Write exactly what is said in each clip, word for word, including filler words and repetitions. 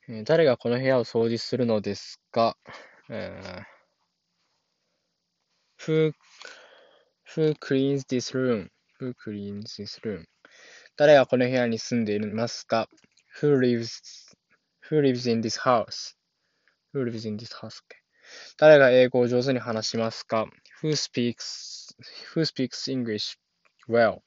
えー誰がこの部屋を掃除するのですか？えー who, who cleans this room? Who cleans this room? 誰がこの部屋に住んでいますか？ Who lives, who lives in this house? Who lives in this house? 誰が英語を上手に話しますか？ Who speaks, who speaks English well?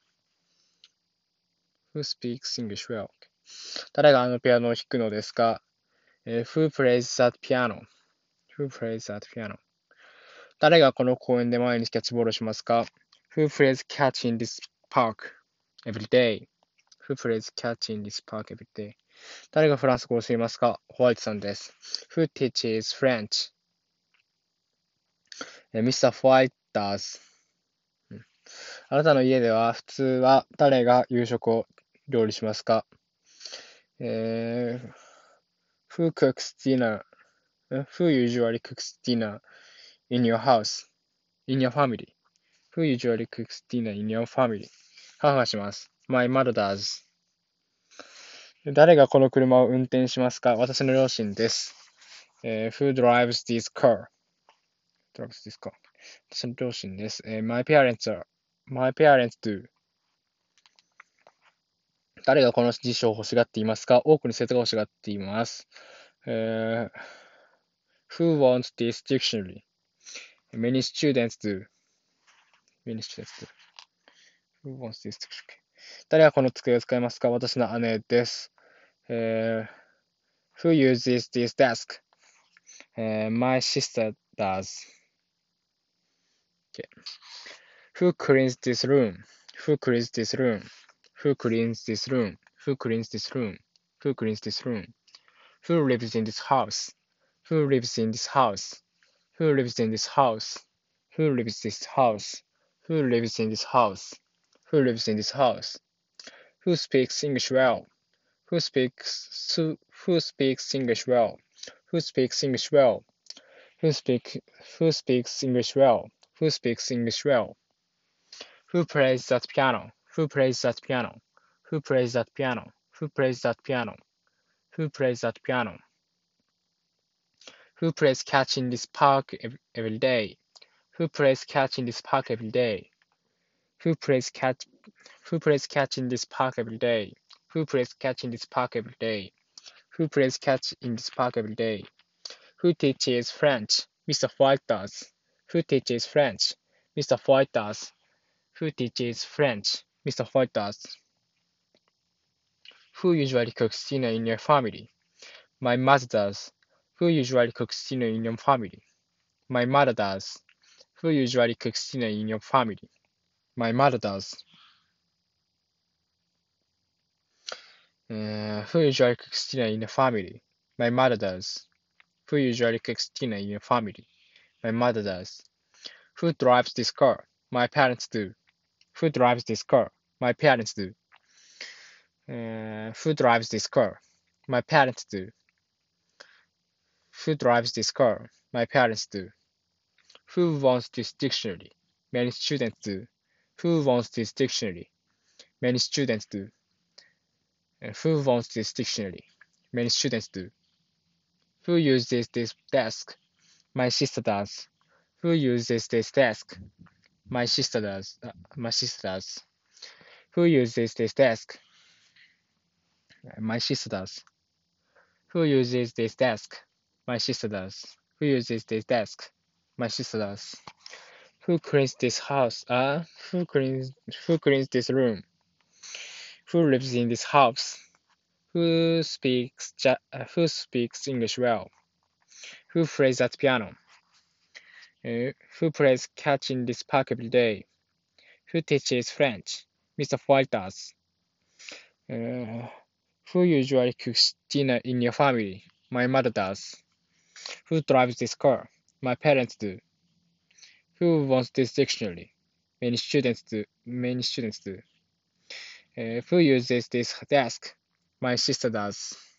Who speaks English well? 誰があのピアノを弾くのですか？えー Who plays that piano? Who plays that piano? 誰がこの公園で毎日キャッチボールしますか？ Who plays catch in this park every day? Who plays catch in this park every day? 誰がフランス語を教えますか？ホワイトさんです。Who teaches French? えー ミスター White does. うんあなたの家では普通は誰が夕食を料理しますか？えー Who cooks dinner? Who usually cooks dinner in your house? In your family? Who usually cooks dinner in your family? 母がします。My mother does. 誰がこの車を運転しますか？私の両親です。えー Who drives this car? drives this car? 私の両親です。えー My parents are. My parents do. 誰がこの辞書を欲しがっていますか？多くの生徒が欲しがっています。えー Who wants this dictionary? Many students do. Many students do. Who wants this dictionary? 誰がこの机を使いますか？私の姉です。えー Who uses this desk? Uh, my sister does. Okay. Who cleans this room? Who cleans this room? Who cleans this room? Who cleans this room? Who cleans this room? Who lives in this house? Who lives in this house? Who lives in this house? Who lives in this house? Who lives in this house? Who lives in this house? Who speaks English well? Who speaks who speaks English well? Who speaks English well? Who speak who speaks English well? Who speaks English well? Who plays that piano? Who plays that piano? Who plays that piano? Who plays that piano? Who plays that piano? Who plays catch in this park every day? Who plays catch in this park every day? Who plays catch Who plays catch in this park every day? Who plays catch in this park every day? Who plays catch in this park every day? Who teaches French? Mister White does. Who teaches French? Mister White does. Who teaches French? Mister White does. Who usually cooks dinner in your family? My mother does. Who usually cooks dinner in your family? My mother does. Who usually cooks dinner in your family? My mother does. Uh, who usually cooks dinner in your family? My mother does. Who usually cooks dinner in your family? My mother does. Who drives this car? My parents do. Who drives this car? My parents do. Uh, who drives this car? My parents do. Who drives this car? My parents do. Who wants this dictionary? Many students do. Who wants this dictionary? Many students do. Uh, who wants this dictionary? Many students do. Who uses this desk? My sister does. Who uses this desk? My sister does. Uh, my sister does. Who uses this desk? Uh, My sister does. Who uses this desk? My sister does. Who uses this desk? My sister does. Who cleans this house? Uh, who cleans who cleans this room? Who lives in this house? Who speaks ja- uh, who speaks English well? Who plays that piano? Uh, who plays catch in this park every day? Who teaches French? Mister White does. Uh, who usually cooks dinner in your family? My mother does. Who drives this car? My parents do. Who wants this dictionary? Many students do. Many students do. Uh, who uses this desk? My sister does.